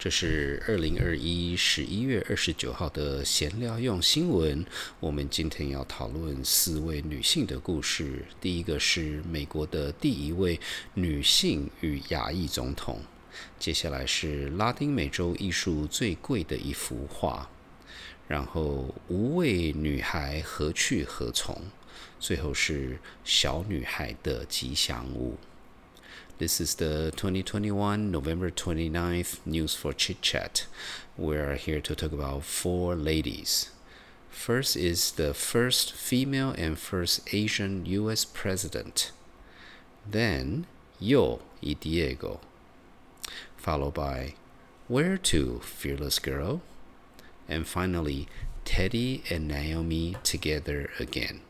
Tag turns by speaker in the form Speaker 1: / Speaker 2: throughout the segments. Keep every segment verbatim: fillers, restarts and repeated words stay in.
Speaker 1: 这是二零二一十一月二十九号的闲聊用新闻。我们今天要讨论四位女性的故事。第一个是美国的第一位女性与亚裔总统，接下来是拉丁美洲艺术最贵的一幅画，然后无畏女孩何去何从，最后是小女孩的吉祥物。This is the twenty twenty-one November twenty-ninth News for Chit Chat. We are here to talk about four ladies. First is the first female and first Asian U S president. Then Yo y Diego, followed by Where to, Fearless Girl? And finally, Teddy and Naomi together again.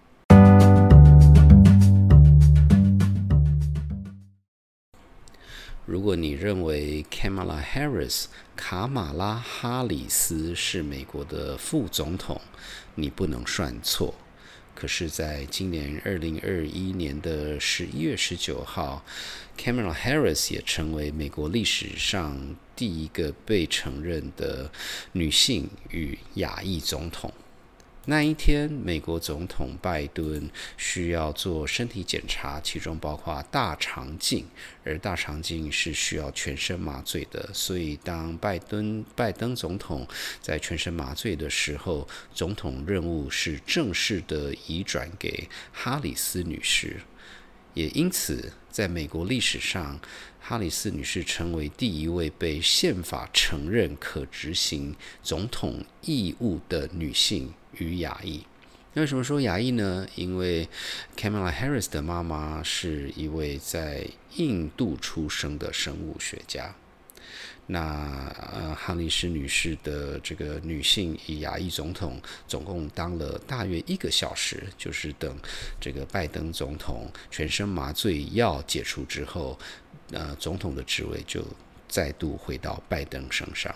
Speaker 1: 如果你认为 Kamala Harris 卡马拉哈里斯是美国的副总统，你不能算错。可是在今年二零二一年的十一月十九号， Kamala Harris 也成为美国历史上第一个被承认的女性与亚裔总统。那一天，美国总统拜登需要做身体检查，其中包括大肠镜，而大肠镜是需要全身麻醉的。所以，当拜登拜登总统在全身麻醉的时候，总统任务是正式的移转给哈里斯女士。也因此，在美国历史上，哈里斯女士成为第一位被宪法承认可执行总统义务的女性与亚裔。那为什么说亚裔呢？因为 Kamala Harris 的妈妈是一位在印度出生的生物学家。那呃，哈里斯女士的这个女性与亚裔总统总共当了大约一个小时，就是等这个拜登总统全身麻醉药解除之后，呃，总统的职位就再度回到拜登身上。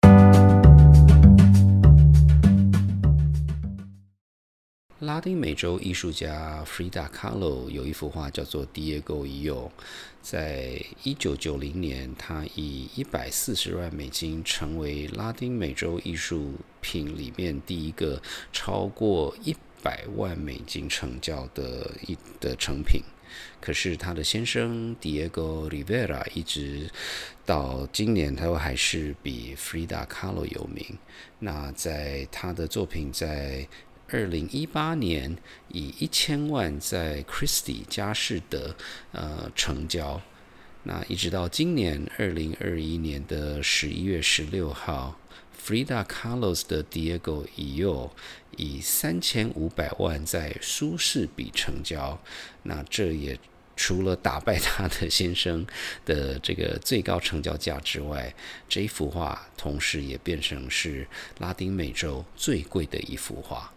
Speaker 1: 拉丁美洲艺术家 Frida Kahlo 有一幅画叫做 Diego y Yo， 在一九九零年，他以一百四十万美金成为拉丁美洲艺术品里面第一个超过一百万美金成交的一的成品。可是他的先生 Diego Rivera 一直到今年，他还是比 Frida Kahlo 有名。那在他的作品在二零一八年以一千万在 Christie 佳士得呃成交，那一直到今年二零二一年的十一月十六号 ，Frida Kahlo 的 Diego y Yo 以三千五百万在苏士比成交，那这也除了打败他的先生的这个最高成交价之外，这一幅画同时也变成是拉丁美洲最贵的一幅画。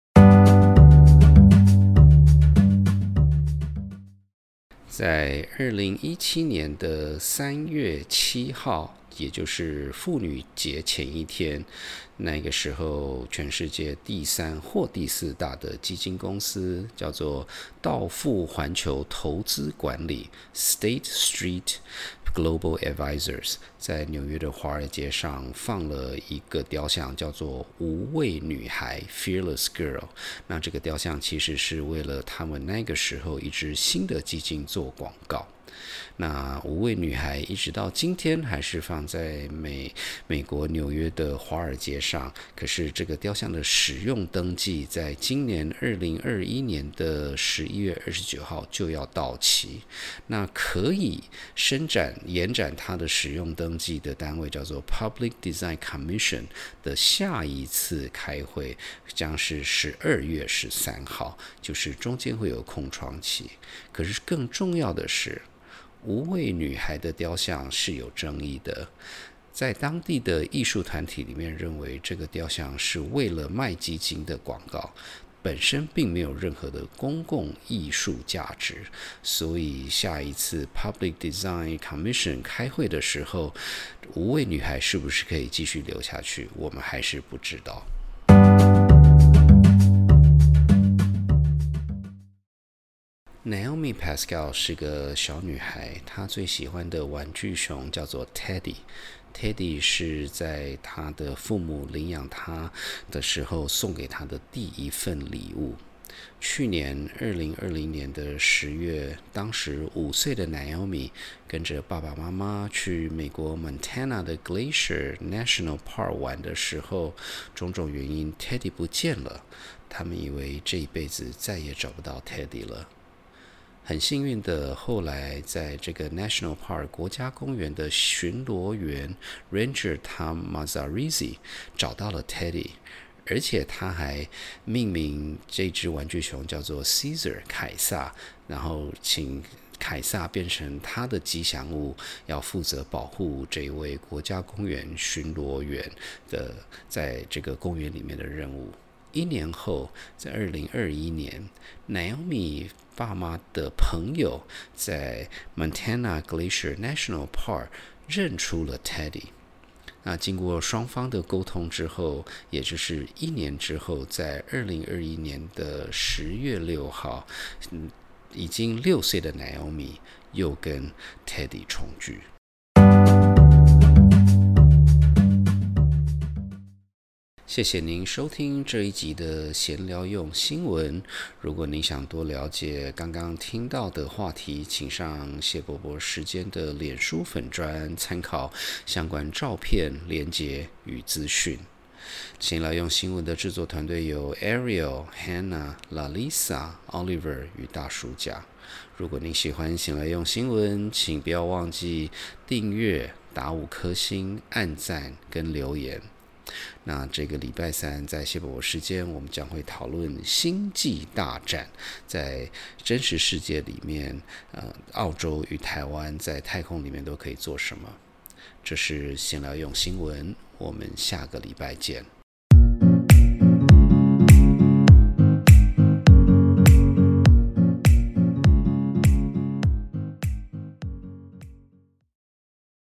Speaker 1: 在二零一七年的三月七号，也就是妇女节前一天，那个时候全世界第三或第四大的基金公司叫做道富环球投资管理 State Street Global Advisors 在纽约的华尔街上放了一个雕像，叫做无畏女孩 Fearless Girl。 那这个雕像其实是为了他们那个时候一支新的基金做广告。那无畏女孩一直到今天还是放在美美国纽约的华尔街上，可是这个雕像的使用登记在今年二零二一年的十一月二十九号就要到期。那可以伸展延展它的使用登记的单位叫做 Public Design Commission 的下一次开会将是十二月十三号，就是中间会有空窗期。可是更重要的是，无畏女孩的雕像是有争议的，在当地的艺术团体里面认为这个雕像是为了卖基金的广告，本身并没有任何的公共艺术价值，所以下一次 Public Design Commission 开会的时候，无畏女孩是不是可以继续留下去，我们还是不知道。Naomi Pascal 是个小女孩，她最喜欢的玩具熊叫做 Teddy。 Teddy 是在他的父母领养他的时候送给他的第一份礼物。去年二零二零年的十月，当时五岁的 Naomi 跟着爸爸妈妈去美国 Montana 的 Glacier National Park 玩的时候，种种原因 Teddy 不见了，他们以为这一辈子再也找不到 Teddy 了。很幸运的，后来在这个 National Park 国家公园的巡逻员 Ranger Tom Mazzarisi 找到了 Teddy， 而且他还命名这只玩具熊叫做 Caesar 凯撒，然后请凯撒变成他的吉祥物，要负责保护这位国家公园巡逻员的在这个公园里面的任务。一年后，在二零二一年 Naomi 爸妈的朋友在 Montana Glacier National Park 认出了 Teddy。那经过双方的沟通之后，也就是一年之后，在二零二一年的十月六号，嗯，已经六岁的 Naomi 又跟 Teddy 重聚。谢谢您收听这一集的闲聊用新闻。如果您想多了解刚刚听到的话题，请上谢伯伯时间的脸书粉专参考相关照片、连结与资讯。闲聊用新闻的制作团队有 Ariel、Hannah、Lalisa、Oliver 与大叔甲。如果您喜欢闲聊用新闻，请不要忘记订阅、打五颗星、按赞跟留言。那这个礼拜三在谢伯伯时间，我们将会讨论星际大战，在真实世界里面，呃，澳洲与台湾在太空里面都可以做什么。这是闲聊用新闻，我们下个礼拜见。